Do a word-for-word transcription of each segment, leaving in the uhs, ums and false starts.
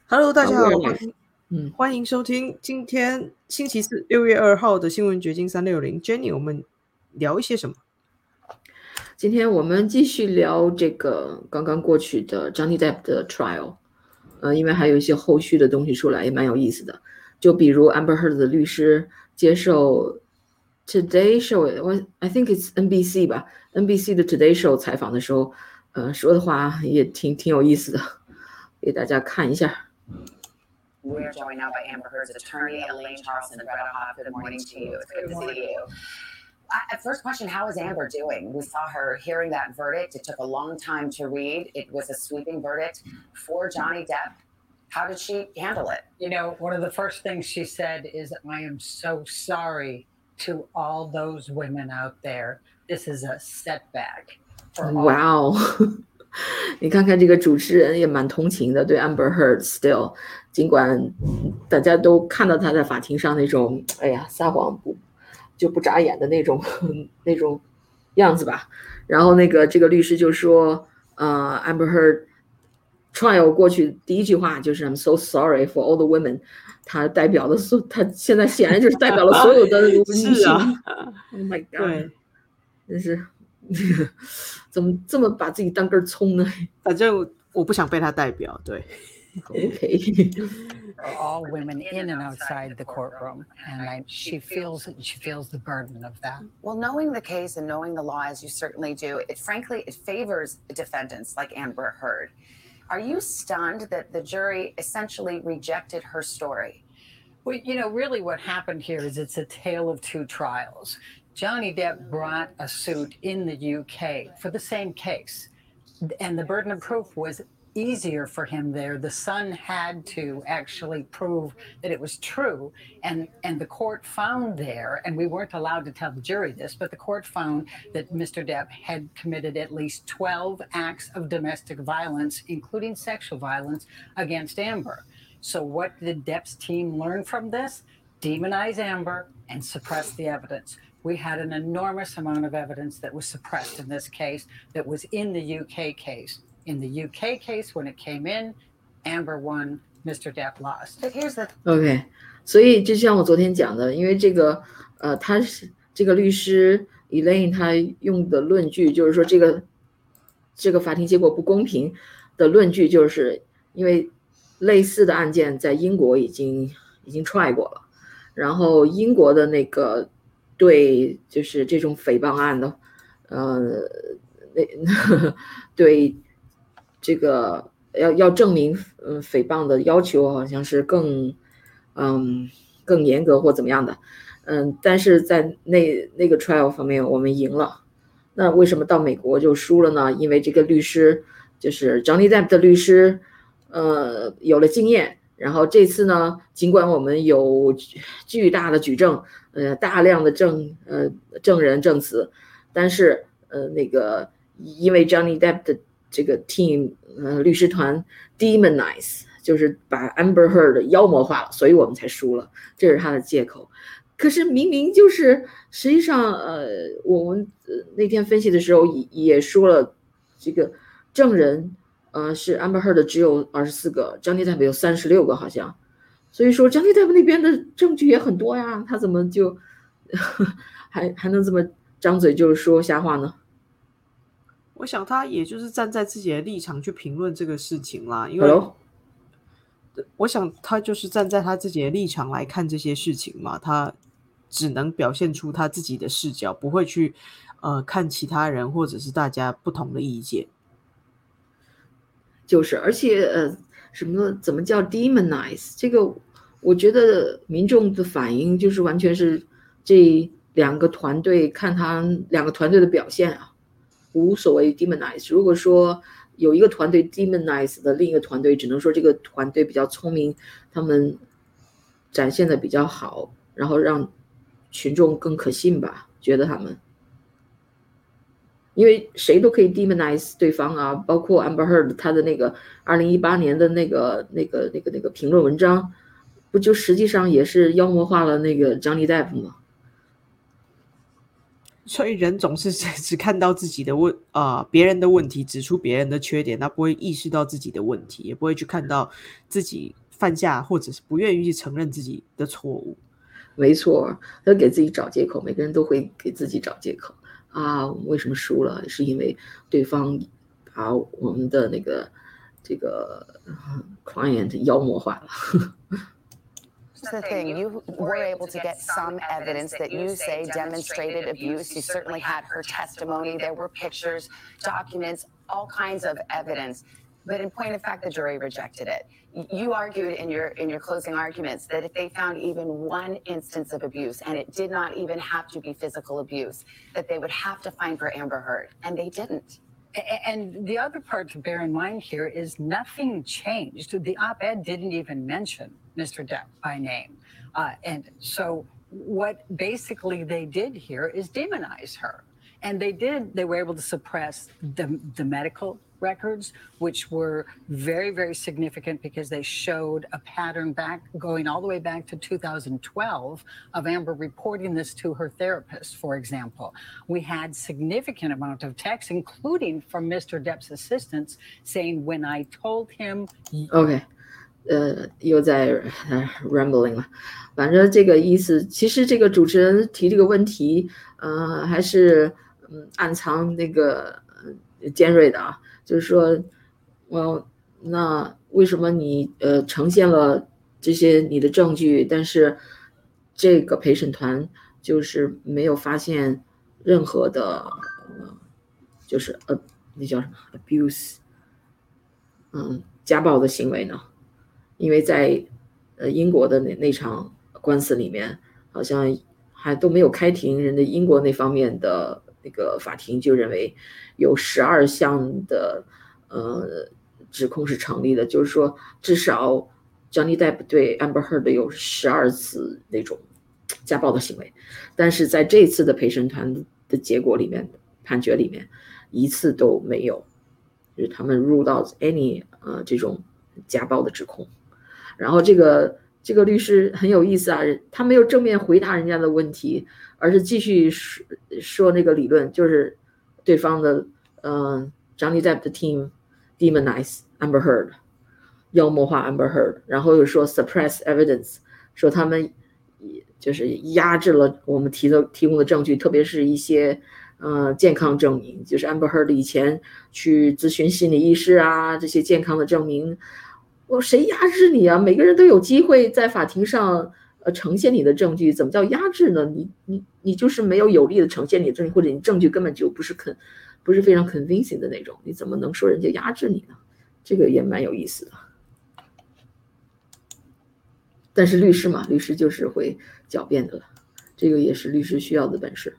Hello，大家好， 好欢迎嗯， 欢迎收听今天星期四六月二号的新闻掘金三六零。Jenny，我们聊一些什么？ 今天我们继续聊这个刚刚过去的 Johnny Depp 的 trial，呃，因为还有一些后续的东西出来，也蛮有意思的。就比如 Amber Heard 的律师接受 Today Show，我 I think it's N B C 吧，N B C 的 Today Show 采访的时候，呃，说的话也挺挺有意思的，给大家看一下。 We're joined now by Amber Heard's attorney, Elaine Charleston. Greta Hoff, good morning to you. It's good to see you. Uh, first question, how is Amber doing? We saw her hearing that verdict. It took a long time to read. It was a sweeping verdict for Johnny Depp. How did she handle it? You know, one of the first things she said is, I am so sorry to all those women out there. This is a setback for all. 哇哦，你看看这个主持人也蛮同情的，对 Amber Heard still，尽管大家都看到他在法庭上那种，哎呀，撒谎不就不眨眼的那种那种样子吧。然后那个这个律师就说，呃，Amber Heard trial 过去第一句话就是 I'm so sorry for all the women， 他代表了所，他现在显然就是代表了所有的女性。 是啊 ，Oh my god， 对， 真是怎么这么把自己当根葱呢？ 反正我不想被他代表。对 OK， For all women in and outside the courtroom, and I, she feels she feels the burden of that. Well, knowing the case and knowing the law as you certainly do, it frankly it favors defendants like Amber Heard. Are you stunned that the jury essentially rejected her story? Well, you know, really what happened here is it's a tale of two trials. Johnny Depp brought a suit in the U K for the same case, and the burden of proof was easier for him there. The son had to actually prove that it was true, and and the court found there, and we weren't allowed to tell the jury this, but the court found that Mister Depp had committed at least twelve acts of domestic violence, including sexual violence, against Amber. So what did Depp's team learn from this? Demonize Amber and suppress the evidence. We had an enormous amount of evidence that was suppressed in this case that was in the U K case. In the U K case, when it came in, Amber won, Mister Depp lost. But here's the OK， 所以就像我昨天讲的，因为这个呃，他是这个律师 Elaine 他用的论据就是说，这个这个法庭结果不公平的论据，就是因为类似的案件在英国已经已经 try 过了，然后英国的那个对就是这种诽谤案的，呃，那对这个要要证明嗯诽谤的要求好像是更嗯更严格或怎么样的，嗯，但是在那那个 trial 方面我们赢了，那为什么到美国就输了呢？因为这个律师就是 Johnny Depp 的律师，呃，有了经验。然后这次呢，尽管我们有巨大的举证，呃，大量的证呃证人证词，但是呃那个因为 Johnny Depp 的这个 team 呃律师团 demonize， 就是把 Amber Heard 妖魔化了，所以我们才输了，这是他的借口。可是明明就是实际上呃我们那天分析的时候也也说了，这个证人呃是 Amber Heard 只有二十四个， Johnny Depp 有三十六个好像，所以说 Johnny Depp 那边的证据也很多呀，他怎么就还还能这么张嘴就说瞎话呢？ 我想他也就是站在自己的立场去评论这个事情啦，因为 Hello? 我想他就是站在他自己的立场来看这些事情嘛，他只能表现出他自己的视角，不会去呃看其他人或者是大家不同的意见。 就是，而且呃，什么怎么叫 demonize？ 这个我觉得民众的反应就是完全是这两个团队看他两个团队的表现啊，无所谓 demonize。如果说有一个团队 demonize 的，另一个团队只能说这个团队比较聪明，他们展现的比较好，然后让群众更可信吧，觉得他们。因为谁都可以 demonize 对方啊，包括 Amber Heard 他的那个二零一八年的那个那个那个那个评论文章，不就实际上也是妖魔化了那个 Johnny Depp 吗？ 所以人总是只看到自己的问啊、呃，别人的问题，指出别人的缺点，他不会意识到自己的问题，也不会去看到自己犯下或者是不愿意去承认自己的错误。 没错，他给自己找借口，每个人都会给自己找借口啊。为什么输了？是因为对方把我们的那个这个 client 妖魔化了。 That's the thing. You were able to get some evidence that you say demonstrated abuse. You certainly had her testimony. There were pictures, documents, all kinds of evidence. But in point of fact, the jury rejected it. You argued in your in your closing arguments that if they found even one instance of abuse, and it did not even have to be physical abuse, that they would have to find for Amber Heard, and they didn't. And the other part to bear in mind here is nothing changed. The op-ed didn't even mention Mister Depp by name. Uh, and so what basically they did here is demonize her. And they did, they were able to suppress the, the medical records, which were very, very significant because they showed a pattern back going all the way back to two thousand twelve of Amber reporting this to her therapist, for example. We had significant amount of texts, including from Mister Depp's assistants, saying, when I told him... Okay. 呃，又在、呃、rambling 了。反正这个意思，其实这个主持人提这个问题，呃，还是嗯暗藏那个、呃、尖锐的啊。就是说，我那为什么你呃呈现了这些你的证据，但是这个陪审团就是没有发现任何的，呃、就是呃那叫什么 abuse， 嗯，家暴的行为呢？因为在呃英国的那那场官司里面，好像还都没有开庭，人的英国那方面的那个法庭就认为有十二项的呃指控是成立的，就是说至少 Johnny Depp 对 Amber Heard 有十二次那种家暴的行为，但是在这次的陪审团的结果里面，判决里面一次都没有，就是他们 rule out any 呃这种家暴的指控。然后这个这个律师很有意思啊，他没有正面回答人家的问题，而是继续说说那个理论，就是对方的嗯、呃、Johnny Depp 的 team demonize Amber Heard， 妖魔化 Amber Heard， 然后又说 suppress evidence， 说他们就是压制了我们提的提供的证据，特别是一些呃健康证明，就是 Amber Heard 以前去咨询心理医师啊，这些健康的证明。我谁压制你啊？每个人都有机会在法庭上呃呈现你的证据，怎么叫压制呢？你你你就是没有有力的呈现你的证据，或者你证据根本就不是肯不是非常 convincing 的那种，你怎么能说人家压制你呢？这个也蛮有意思的。但是律师嘛，律师就是会狡辩的了，这个也是律师需要的本事。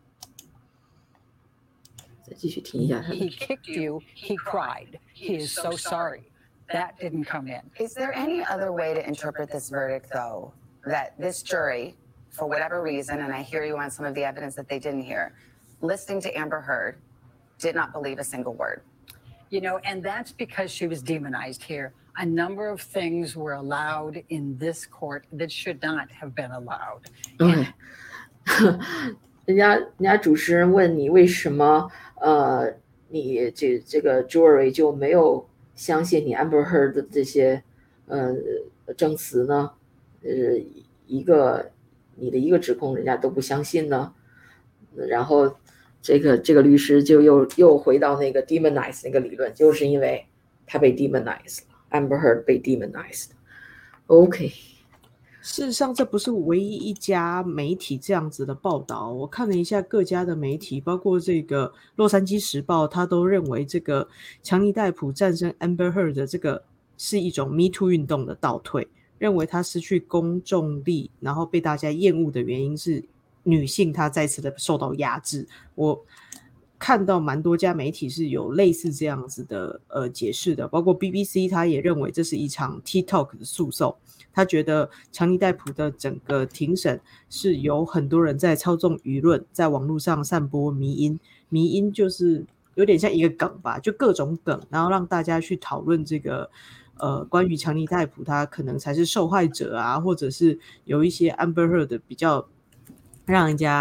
再继续听一下他的。 He kicked you, he cried. He is so sorry. That didn't come in. Is there any other way to interpret this verdict, though, that this jury, for whatever reason, and I hear you on some of the evidence that they didn't hear, listening to Amber Heard, did not believe a single word? You know, and that's because she was demonized here. A number of things were allowed in this court that should not have been allowed. Okay. 人家人家主持人问你为什么呃你这这个 jury 就没有相信你 Amber Heard 的这些呃证词呢？呃，一个你的一个指控人家都不相信呢？然后这个这个律师就又又回到那个 demonize 那个理论，就是因为他被 demonize 了 ，Amber Heard 被 demonize。OK。 事实上，这不是唯一一家媒体这样子的报道。我看了一下各家的媒体，包括这个《洛杉矶时报》，他都认为这个强尼戴普战胜 Amber Heard 的这个是一种 Me Too 运动的倒退，认为他失去公众力，然后被大家厌恶的原因是女性她再次的受到压制。我看到蛮多家媒体是有类似这样子的呃解释的，包括 B B C 他也认为这是一场 TikTok 的诉讼。他觉得强尼戴普的整个庭审是有很多人在操纵舆论，在网络上散播迷因，迷因就是有点像一个梗吧，就各种梗，然后让大家去讨论这个呃关于强尼戴普他可能才是受害者啊，或者是有一些 Amber Heard 比较让人家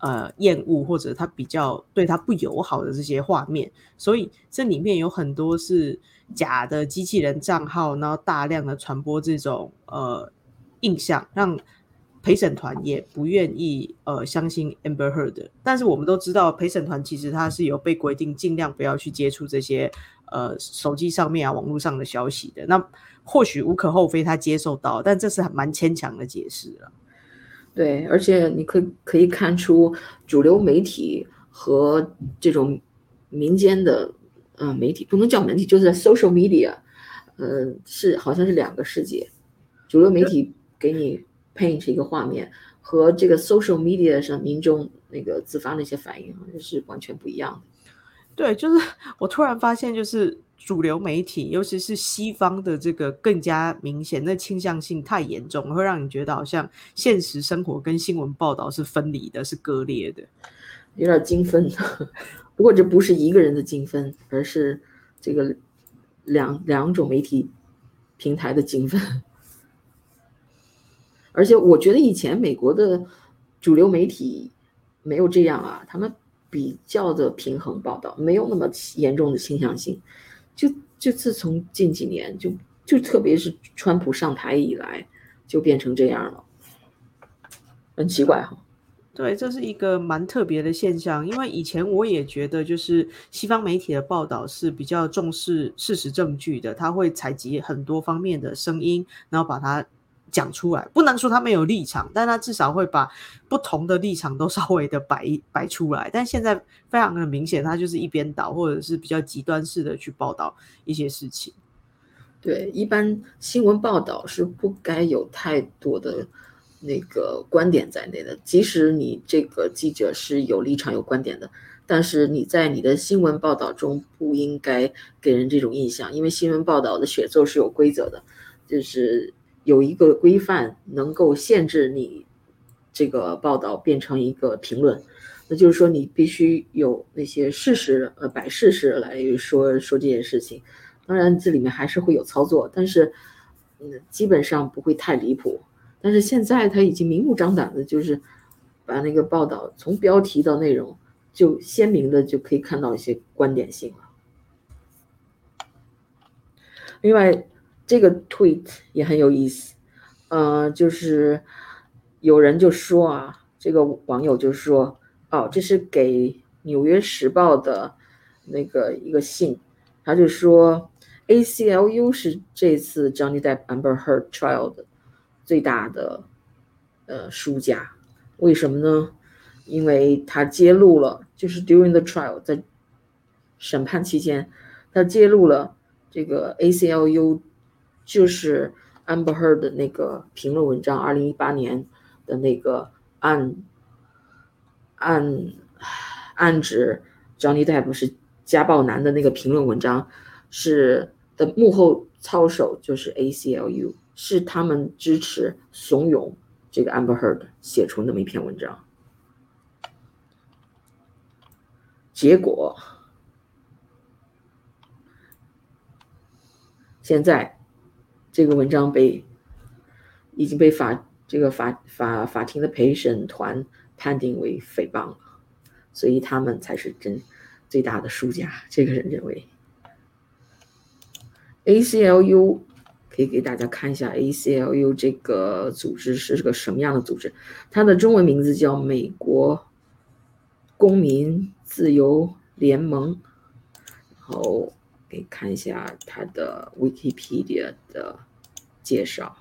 呃厌恶或者他比较对他不友好的这些画面，所以这里面有很多是假的机器人账号，然后大量的传播这种呃印象，让陪审团也不愿意呃相信 Amber Heard。 但是我们都知道陪审团其实它是有被规定尽量不要去接触这些呃手机上面啊网络上的消息的，那或许无可厚非他接受到，但这是蛮牵强的解释了。 对，而且你可以可以看出主流媒体和这种民间的呃媒体，不能叫媒体，就是 social media， 呃是好像是两个世界。主流媒体给你 paint 一个画面，和这个 social media 上民众那个自发的一些反应是完全不一样的。 对，就是我突然发现，就是主流媒体，尤其是西方的这个更加明显，那倾向性太严重，会让你觉得好像现实生活跟新闻报道是分离的，是割裂的， 有点精分。不过这不是一个人的精分，而是这个两两种媒体平台的精分。而且我觉得以前美国的主流媒体没有这样啊，他们比较的平衡报道，没有那么严重的倾向性。就就自从近几年，就就特别是川普上台以来，就变成这样了，很奇怪哈。 对，这是一个蛮特别的现象，因为以前我也觉得，就是西方媒体的报道是比较重视事实证据的，他会采集很多方面的声音，然后把它讲出来，不能说他没有立场，但他至少会把不同的立场都稍微的摆摆出来。但现在非常的明显，他就是一边倒，或者是比较极端式的去报道一些事情。 对，一般新闻报道是不该有太多的那个观点在内的，即使你这个记者是有立场有观点的，但是你在你的新闻报道中不应该给人这种印象，因为新闻报道的写作是有规则的，就是有一个规范能够限制你这个报道变成一个评论，那就是说你必须有那些事实，呃，摆事实来说说这件事情。当然这里面还是会有操作，但是嗯，基本上不会太离谱。但是现在他已经明目张胆的，就是把那个报道从标题到内容就鲜明的就可以看到一些观点性了。另外这个 tweet 也很有意思，呃，就是有人就说啊，这个网友就说，哦，这是给纽约时报的那个一个信，他就说 A C L U 是这次 Johnny Depp Amber Heard trial 的最大的呃输家，为什么呢？因为他揭露了，就是 during the trial 在审判期间，他揭露了这个 A C L U 就是 Amber Heard 的那个评论文章，二零一八年的那个暗暗暗指 Johnny Depp 是家暴男的那个评论文章，是的幕后操手就是 A C L U， 是他们支持怂恿这个 Amber Heard 写出那么一篇文章。结果现在这个文章被已经被法这个法法法庭的陪审团判定为诽谤了，所以他们才是真最大的输家。这个人认为 A C L U 可以给大家看一下 A C L U 这个组织是个什么样的组织，它的中文名字叫美国公民自由联盟，然后给你看一下它的 Wikipedia 的介绍，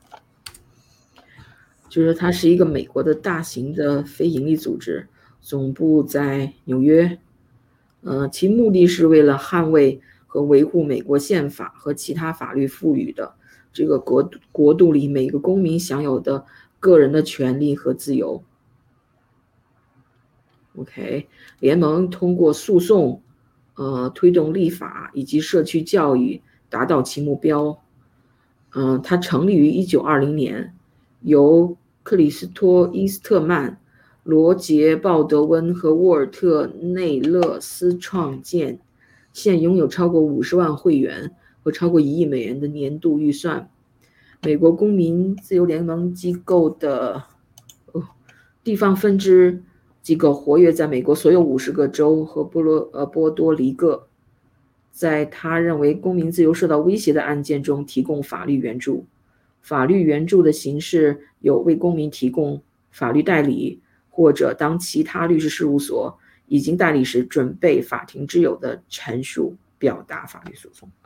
就是它是一个美国的大型的非营利组织，总部在纽约，呃，其目的是为了捍卫和维护美国宪法和其他法律赋予的这个国国度里每个公民享有的个人的权利和自由。OK， 联盟通过诉讼，呃，推动立法以及社区教育，达到其目标。嗯、呃，它成立于一九二零年，由克里斯托·伊斯特曼、罗杰·鲍德温和沃尔特·内勒斯创建，现拥有超过五十万会员和超过一亿美元的年度预算。美国公民自由联盟机构的、哦、地方分支机构活跃在美国所有五十个州和波罗呃波多黎各，在他认为公民自由受到威胁的案件中提供法律援助。法律援助的形式有为公民提供法律代理，或者当其他律师事务所已经代理时准备法庭之友的陈述，表达法律诉讼。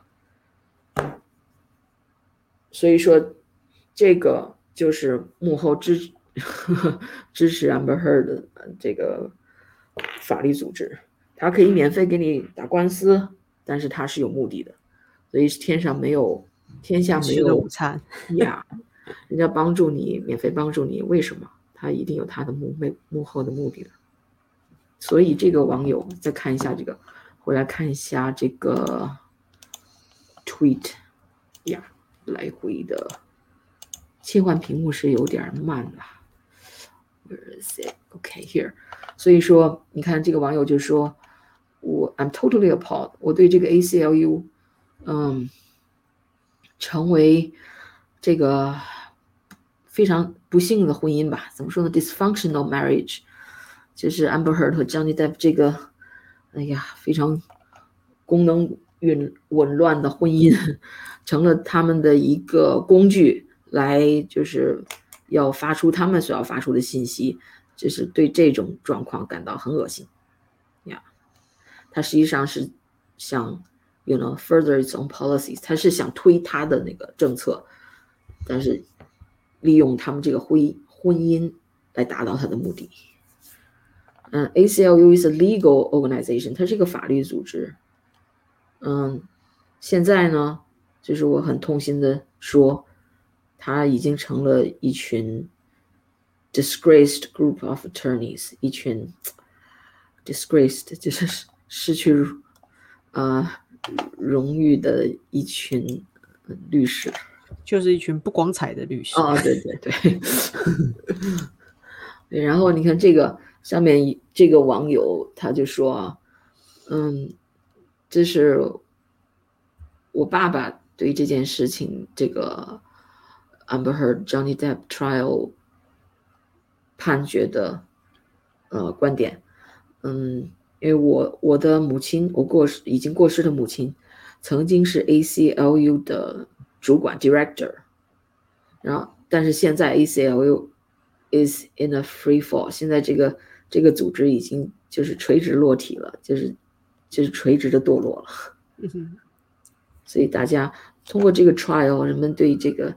所以说这个就是幕后支支持 Amber Heard 的这个法律组织，它可以免费给你打官司，但是它是有目的的，所以天上没有天下没有午餐呀，人家帮助你免费帮助你，为什么？他一定有他的幕幕后的目的的。所以这个网友再看一下这个，回来看一下这个 tweet 呀，来回的切换屏幕是有点慢了。Where is it? Okay, here. 所以说，你看这个网友就说，我 I'm totally appalled. 我对这个 A C L U， 嗯，成为这个非常不幸的婚姻吧？怎么说呢 ？Dysfunctional marriage， 就是 Amber Heard 和 Johnny Depp 这个，哎呀，非常功能紊紊乱的婚姻，成了他们的一个工具，来就是要发出他们所要发出的信息，就是对这种状况感到很恶心呀。他实际上是想 you know further its own policies， 他是想推他的那个政策，但是利用他们这个婚婚姻来达到他的目的。嗯 ，A C L U is a legal organization， 它是一个法律组织。嗯，现在呢，就是我很痛心的说，它已经成了一群 disgraced group of attorneys， 一群 disgraced 就是失去呃荣誉的一群律师， 就是一群不光彩的律师。 哦，对对对。对，然后你看这个上面这个网友他就说，嗯，这是我爸爸对这件事情这个 Amber Heard Johnny Depp trial 判决的呃观点。嗯，因为我我的母亲，我过世已经过世的母亲，曾经是 A C L U 的主管 director， 然后但是现在 A C L U is in a free fall， 现在这个这个组织已经就是垂直落体了，就是就是垂直的堕落了。 嗯， 所以大家通过这个 trial， 人们对这个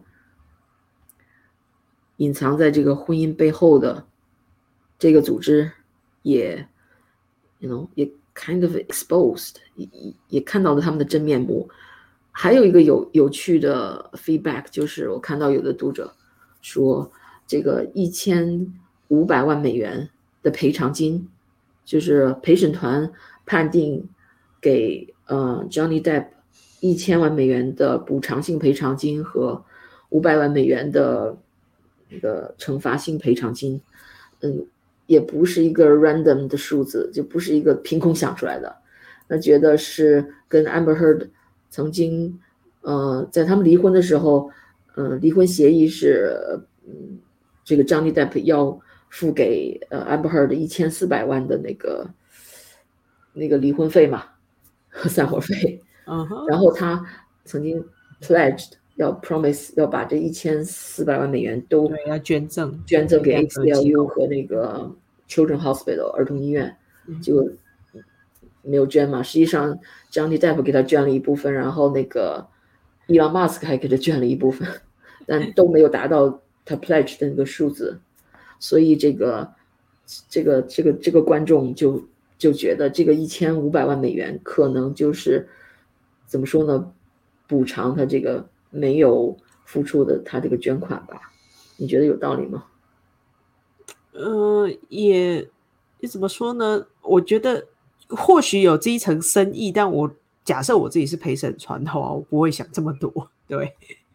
隐藏在这个婚姻背后的这个组织也 you know 也 kind of exposed， 也, 也看到了他们的真面目。还有一个有有趣的 feedback， 就是我看到有的读者说，这个一千五百万美元的赔偿金，就是陪审团判定给呃 Johnny Depp 一千万美元的补偿性赔偿金和五百万美元的那个惩罚性赔偿金，嗯，也不是一个 random 的数字，就不是一个凭空想出来的。那觉得是跟 Amber Heard 曾经呃在他们离婚的时候，嗯、呃，离婚协议是嗯这个 Johnny Depp 要付给呃 Amber Heard 一千四百万的那个那个离婚费嘛，散伙费。 嗯哼， 然后他曾经 pledged 要 promise 要把这一千四百万美元都对，要捐赠捐赠给 A 两 C 个 L 机 U 构。 和那个 Children Hospital 儿童医院， 嗯结果没有捐嘛。实际上 Johnny Depp 给他捐了一部分，然后那个 Elon Musk 还给他捐了一部分，但都没有达到他 pledge 的那个数字。所以这个这个这个这个观众就就觉得这个一千五百万美元可能就是怎么说呢，补偿他这个没有付出的他这个捐款吧？你觉得有道理吗？ 呃，也也怎么说呢？我觉得或许有这一层深意，但我假设我自己是陪审团的话，我不会想这么多。对，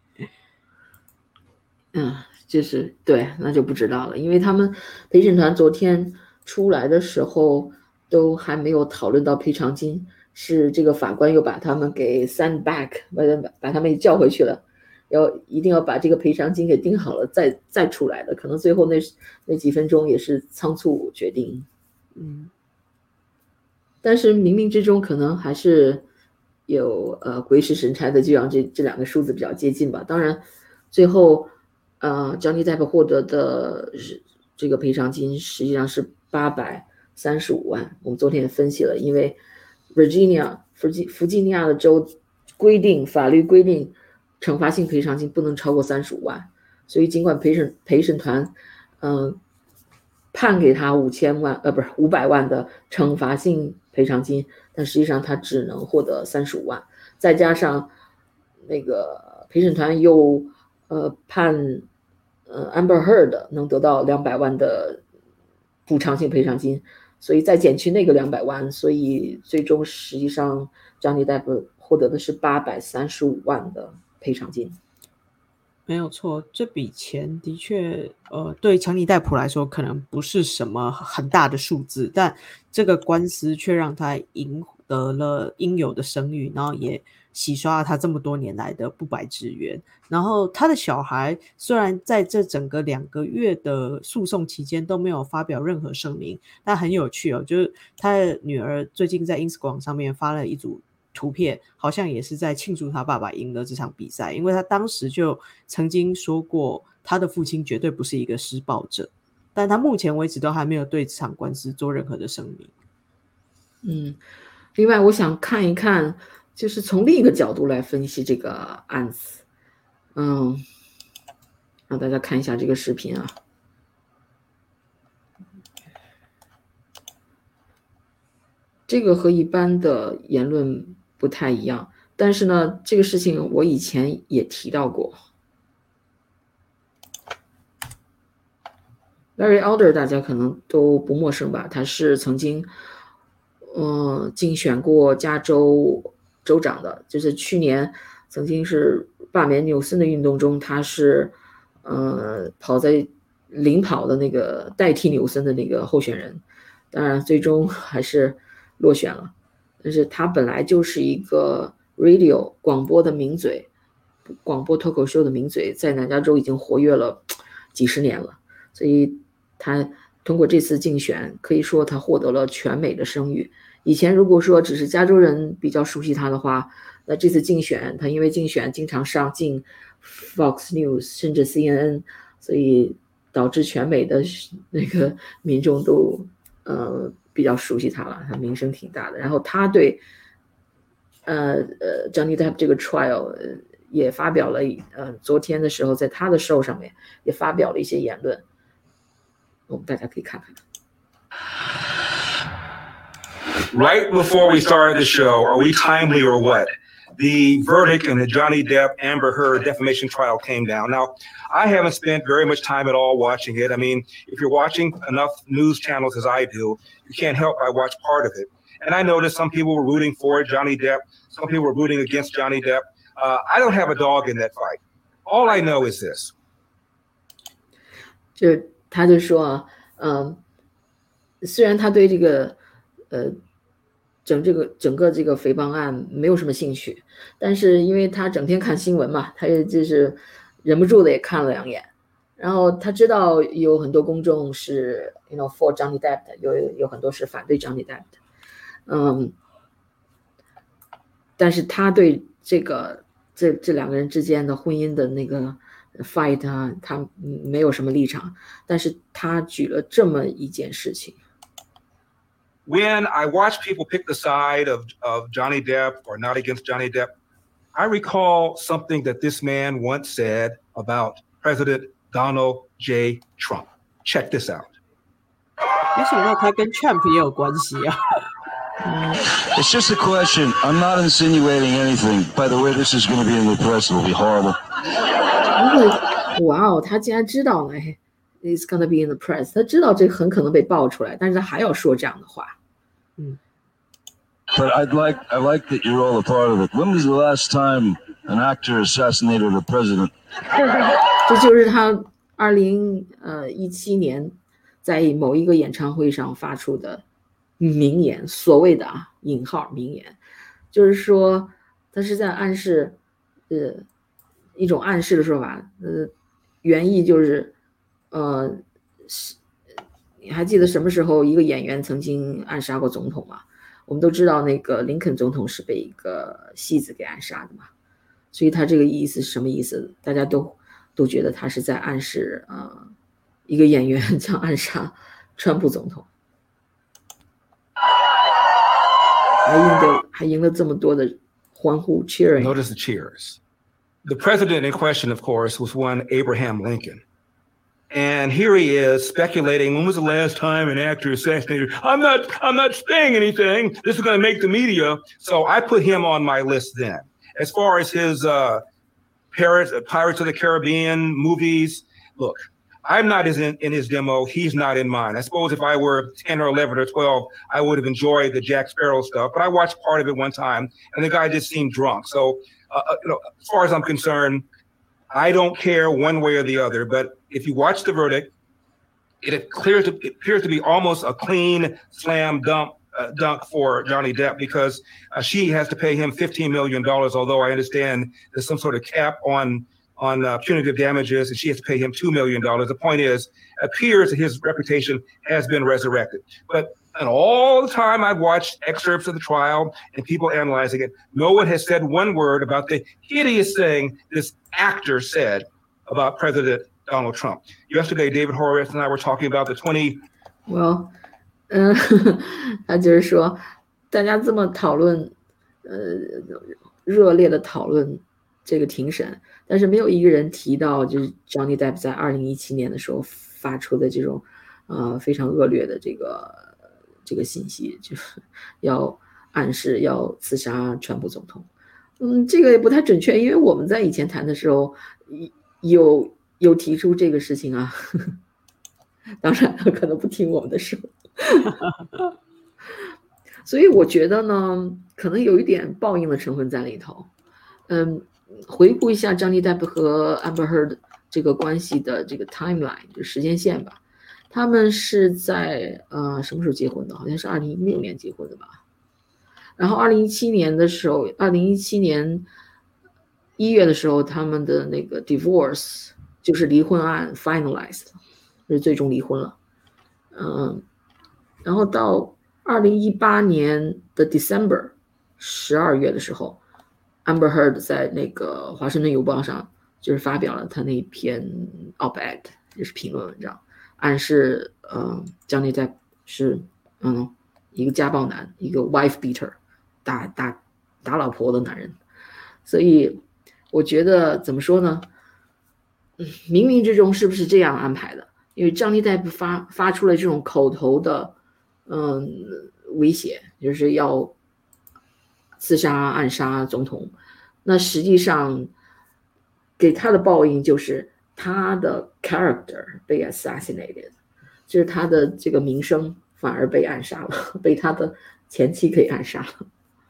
嗯，就是对，那就不知道了，因为他们陪审团昨天出来的时候都还没有讨论到赔偿金，是这个法官又把他们给 send back， 把把他们叫回去了，要一定要把这个赔偿金给定好了再再出来的，可能最后那那几分钟也是仓促决定。 嗯， 但是冥冥之中可能还是有呃鬼使神差的，就让这这两个数字比较接近吧。当然，最后呃 Johnny Depp 获得的是这个赔偿金实际上是八百三十五万。我们昨天也分析了，因为 Virginia 弗吉弗吉尼亚的州规定法律规定惩罚性赔偿金不能超过三十五万，所以尽管陪审陪审团嗯、呃、判给他五千万呃不是五百万的惩罚性赔偿金，但实际上他只能获得三十五万，再加上那个陪审团又呃判呃 Amber Heard 能得到两百万的补偿性赔偿金，所以再减去那个两百万，所以最终实际上 Johnny Depp 获得的是八百三十五万的赔偿金。 没有错，这笔钱的确，呃，对强尼戴普来说可能不是什么很大的数字，但这个官司却让他赢得了应有的声誉，然后也洗刷了他这么多年来的不白之冤。然后他的小孩虽然在这整个两个月的诉讼期间都没有发表任何声明，但很有趣哦，就是他的女儿最近在 Instagram 上面发了一组图片，好像也是在庆祝他爸爸赢了这场比赛，因为他当时就曾经说过他的父亲绝对不是一个施暴者，但他目前为止都还没有对这场官司做任何的声明。 嗯，另外我想看一看，就是从另一个角度来分析这个案子。嗯，让大家看一下这个视频啊。这个和一般的言论不太一样，但是呢，这个事情我以前也提到过。Larry Elder 大家可能都不陌生吧，他是曾经呃竞选过加州州长的，就是去年曾经是罢免纽森的运动中，他是呃跑在领跑的那个代替纽森的那个候选人，当然最终还是落选了。但是他本来就是一个 radio 广播的名嘴，广播脱口秀的名嘴，在南加州已经活跃了几十年了，所以他通过这次竞选，可以说他获得了全美的声誉。以前如果说只是加州人比较熟悉他的话，那这次竞选，他因为竞选经常上镜 Fox News 甚至 C N N， 所以导致全美的那个民众都呃比较熟悉他了，他名声挺大的。然后他对呃呃 Johnny Depp 这个 trial、呃、也发表了呃昨天的时候在他的 show 上面也发表了一些言论，我们大家可以看看。 Right before we started the show, are we timely or what? The verdict in the Johnny Depp Amber Heard defamation trial came down. Now, I haven't spent very much time at all watching it. I mean, if you're watching enough news channels as I do, you can't help but watch part of it. And I noticed some people were rooting for Johnny Depp. Some people were rooting against Johnny Depp. Uh, I don't have a dog in that fight. All I know is this. 就他就说，嗯，虽然他对这个，呃，整这个整个这个诽谤案没有什么兴趣，但是因为他整天看新闻嘛，他也就是忍不住的也看了两眼，然后他知道有很多公众是 you know for Johnny Depp 的，有有很多是反对 Johnny Depp 的，嗯，但是他对这个这这两个人之间的婚姻的那个 fight 啊，他没有什么立场，但是他举了这么一件事情。 When I watch people pick the side of, of Johnny Depp or not against Johnny Depp, I recall something that this man once said about President Donald J. Trump. Check this out. 没想到他跟 Trump 也有关系啊。 It's just a question. I'm not insinuating anything. By the way, this is going to be in the press. It'll be horrible. 哇哦，他竟然知道了 ，It's gonna be in the press。他知道这很可能被爆出来，但是他还要说这样的话。 嗯。 But I'd like, I like that you're all a part of it. When was the last time an actor assassinated a president? 这就是他二零呃一七年在某一个演唱会上发出的名言，所谓的啊引号名言，就是说他是在暗示，呃，一种暗示的说法，呃，原意就是，呃， 你还记得什么时候一个演员曾经暗杀过总统吗？我们都知道那个林肯总统是被一个戏子给暗杀的嘛，所以他这个意思是什么意思？大家都都觉得他是在暗示呃一个演员将暗杀川普总统，还赢得还赢了这么多的欢呼 cheering。 Notice the cheers. The president in question, of course, was one Abraham Lincoln. And here he is speculating, when was the last time an actor assassinated? I'm not, I'm not saying anything. This is going to make the media. So I put him on my list then. As far as his uh, Pirates, Pirates of the Caribbean movies, look, I'm not in, in his demo. He's not in mine. I suppose if I were ten or eleven or twelve, I would have enjoyed the Jack Sparrow stuff. But I watched part of it one time, and the guy just seemed drunk. So, uh, you know, as far as I'm concerned, I don't care one way or the other, but if you watch the verdict, it appears to, it appears to be almost a clean slam dunk, uh, dunk for Johnny Depp because uh, she has to pay him fifteen million dollars, although I understand there's some sort of cap on, on uh, punitive damages, and she has to pay him two million dollars. The point is, it appears that his reputation has been resurrected. But and all the time I've watched excerpts of the trial and people analyzing it, no one has said one word about the hideous thing this actor said about President Donald Trump. Yesterday, David Horowitz and I were talking about the twenty. Well, 嗯、呃，他就是说，大家这么讨论，呃，热烈的讨论这个庭审，但是没有一个人提到，就是 Johnny Depp 在二零一七年的时候发出的这种，呃，非常恶劣的这个这个信息，就是要暗示要刺杀川普总统。嗯，这个也不太准确，因为我们在以前谈的时候有有提出这个事情啊。当然他可能不听我们的说。所以我觉得呢，可能有一点报应的成分在里头。嗯，回顾一下 Johnny Depp 和 Amber Heard 这个关系的这个 timeline 就时间线吧。他们是在呃什么时候结婚的？好像是二零一六年结婚的吧。然后二零一七年的时候，二零一七年一月的时候，他们的那个 divorce 就是离婚案 finalized， 就是最终离婚了。嗯，然后到二零一八年的 December 十二月的时候 ，Amber Heard 在那个华盛顿邮报上就是发表了他那篇 op-ed， 就是评论文章。暗示呃 Johnny Depp 是嗯一个家暴男，一个 wife beater， 打打打老婆的男人。所以我觉得怎么说呢，嗯，冥冥之中是不是这样安排的？因为 Johnny Depp 发发出了这种口头的嗯威胁，就是要刺杀暗杀总统，那实际上给他的报应就是他的 character 被 assassinated， 就是他的这个名声反而被暗杀了，被他的前妻给暗杀了。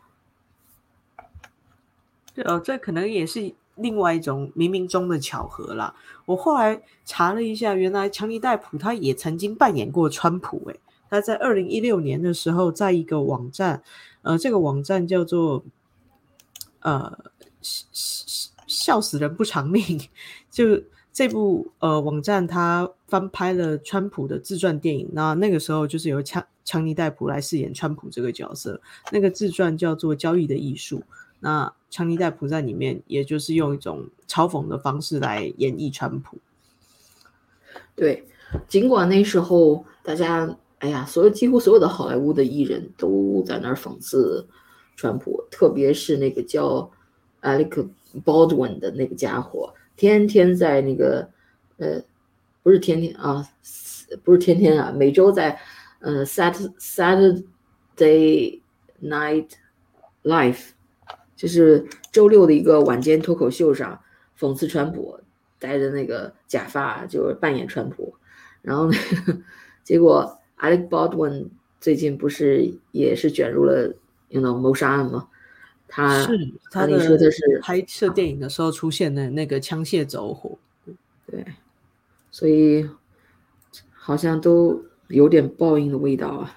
对哦，这可能也是另外一种冥冥中的巧合啦。我后来查了一下，原来强尼戴普他也曾经扮演过川普，诶，他在二零一六年的时候，在一个网站，呃，这个网站叫做呃笑死人不偿命，就这部呃网站它翻拍了川普的自传电影，那那个时候就是由强强尼戴普来饰演川普这个角色，那个自传叫做《交易的艺术》。那强尼戴普在里面也就是用一种嘲讽的方式来演绎川普。 对，尽管那时候大家哎呀，所有几乎所有的好莱坞的艺人都在那儿讽刺川普，特别是那个叫 Alec Baldwin 的那个家伙，天天在那个呃不是天天啊，不是天天啊，每周在呃 Saturday Night Live。就是周六的一个晚间脱口秀上讽刺川普，戴着那个假发就是扮演川普，然后呢，结果 Alec Baldwin 最近不是也是卷入了 you know 谋杀案吗？他是他的说他是拍摄电影的时候出现的那个枪械走火， 对，所以好像都有点报应的味道啊。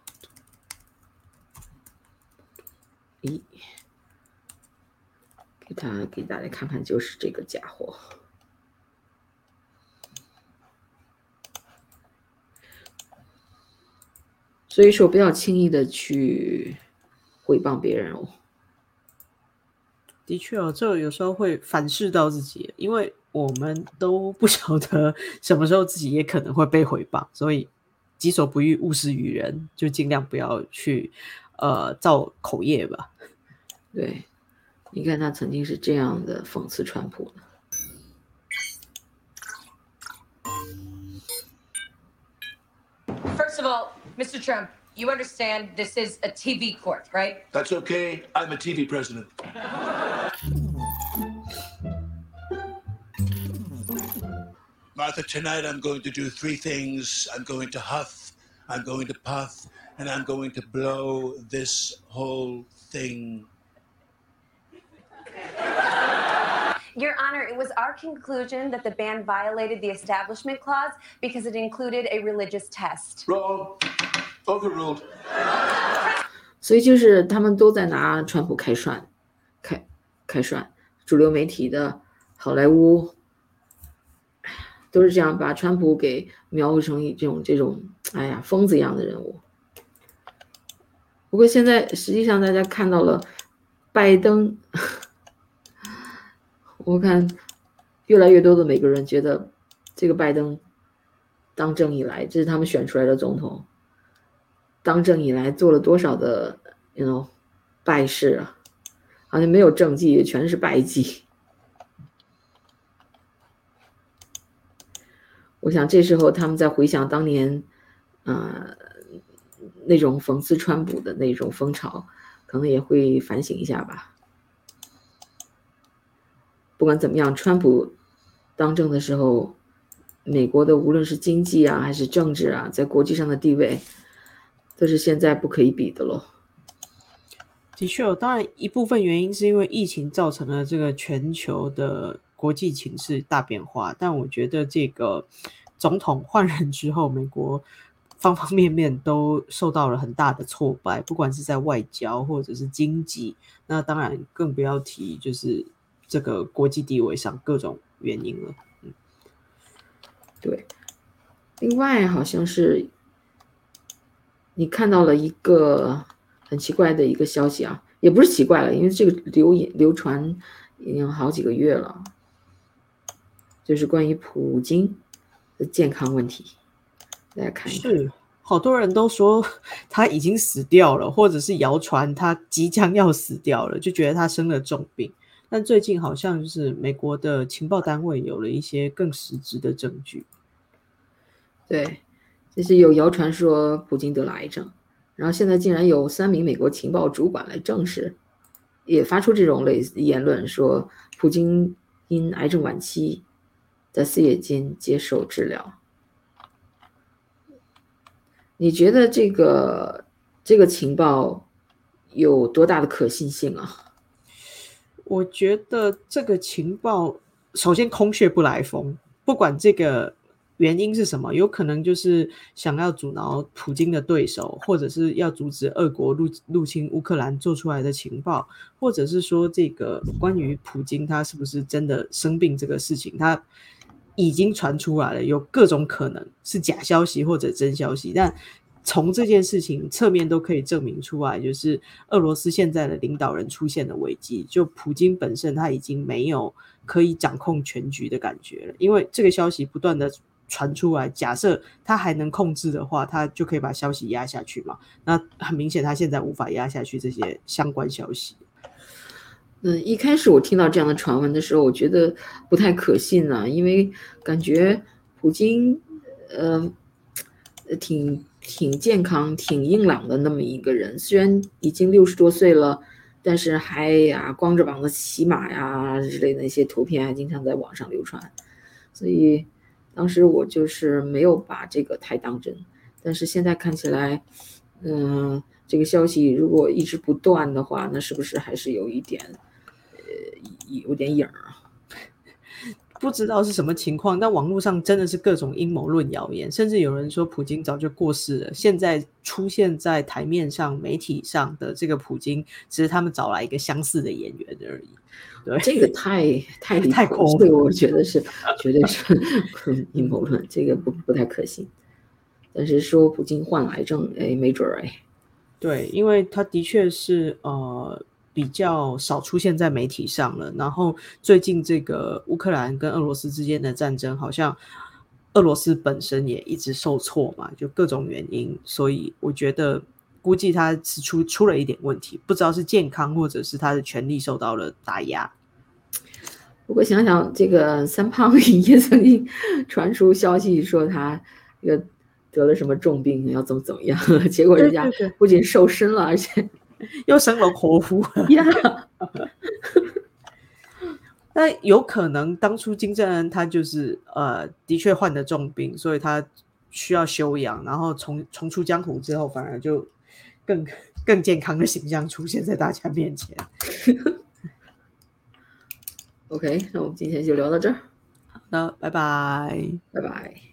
咦， 给他给大家看看，就是这个家伙。所以说，不要轻易的去诽谤别人哦。 的确哦，这有时候会反噬到自己，因为我们都不晓得什么时候自己也可能会被诽谤，所以己所不欲，勿施于人，就尽量不要去呃造口业吧。 对，你看他曾经是这样的讽刺川普的。 First of all, Mister Trump, you understand this is a T V court, right? That's okay. I'm a T V president. Martha, tonight I'm going to do three things. I'm going to huff, I'm going to puff, and I'm going to blow this whole thing. Your Honor, it was our conclusion that the ban violated the Establishment Clause because it included a religious test. Wrong. Overruled. 所以就是他们都在拿川普开涮，开开涮，主流媒体的好莱坞都是这样把川普给描绘成一这种这种哎呀疯子一样的人物。不过现在实际上大家看到了拜登。我看越来越多的美国人觉得这个拜登当政以来，这是他们选出来的总统，当政以来做了多少的 you know 败事啊，好像没有政绩，全是败绩。我想这时候他们在回想当年呃那种讽刺川普的那种风潮，可能也会反省一下吧。不管怎么样，川普当政的时候，美国的无论是经济啊还是政治啊，在国际上的地位都是现在不可以比的咯。 的确，当然一部分原因是因为疫情造成了这个全球的国际情势大变化，但我觉得这个总统换人之后，美国方方面面都受到了很大的挫败，不管是在外交或者是经济，那当然更不要提就是这个国际地位上各种原因了。嗯， 对。另外好像是你看到了一个很奇怪的一个消息啊，也不是奇怪了，因为这个流流传已经好几个月了，就是关于普京的健康问题，大家看一看。 是，好多人都说他已经死掉了，或者是谣传他即将要死掉了，就觉得他生了重病。但最近好像就是美国的情报单位有了一些更实质的证据。 对，就是有谣传说普京得了癌症，然后现在竟然有三名美国情报主管来证实，也发出这种类似言论，说普京因癌症晚期在四月间接受治疗。你觉得这个这个情报有多大的可信性啊？ 我觉得这个情报首先空穴不来风，不管这个原因是什么，有可能就是想要阻挠普京的对手，或者是要阻止俄国入入侵乌克兰做出来的情报，或者是说这个关于普京他是不是真的生病这个事情，他已经传出来了，有各种可能是假消息或者真消息，但从这件事情侧面都可以证明出来，就是俄罗斯现在的领导人出现了危机，就普京本身他已经没有可以掌控全局的感觉了，因为这个消息不断的传出来，假设他还能控制的话，他就可以把消息压下去嘛，那很明显他现在无法压下去这些相关消息。 嗯，一开始我听到这样的传闻的时候，我觉得不太可信啊，因为感觉普京呃挺挺健康挺硬朗的那么一个人，虽然已经六十多岁了，但是还呀光着膀子骑马呀之类的那些图片还经常在网上流传，所以当时我就是没有把这个太当真，但是现在看起来嗯，这个消息如果一直不断的话，那是不是还是有一点呃有点影啊？ 不知道是什么情况，但网络上真的是各种阴谋论谣言，甚至有人说普京早就过世了，现在出现在台面上媒体上的这个普京只是他们找来一个相似的演员而已。对， 这个太太离太谱，这个我觉得是绝对是阴谋论，这个不不太可信。但是说普京患癌症，哎，没准儿哎。 对，因为他的确是呃比较少出现在媒体上了。然后最近这个乌克兰跟俄罗斯之间的战争，好像俄罗斯本身也一直受挫嘛，就各种原因，所以我觉得估计他是出出了一点问题，不知道是健康或者是他的权力受到了打压。 不过想想这个三胖也曾经传出消息说他这个得了什么重病，要怎么怎么样，结果人家不仅瘦身了，而且又生龙活虎呀。 那有可能当初金正恩他就是呃的确患得重病，所以他需要休养，然后重重出江湖之后，反而就更更健康的形象出现在大家面前。 OK， 那我们今天就聊到这儿。 好的，拜拜， 拜拜。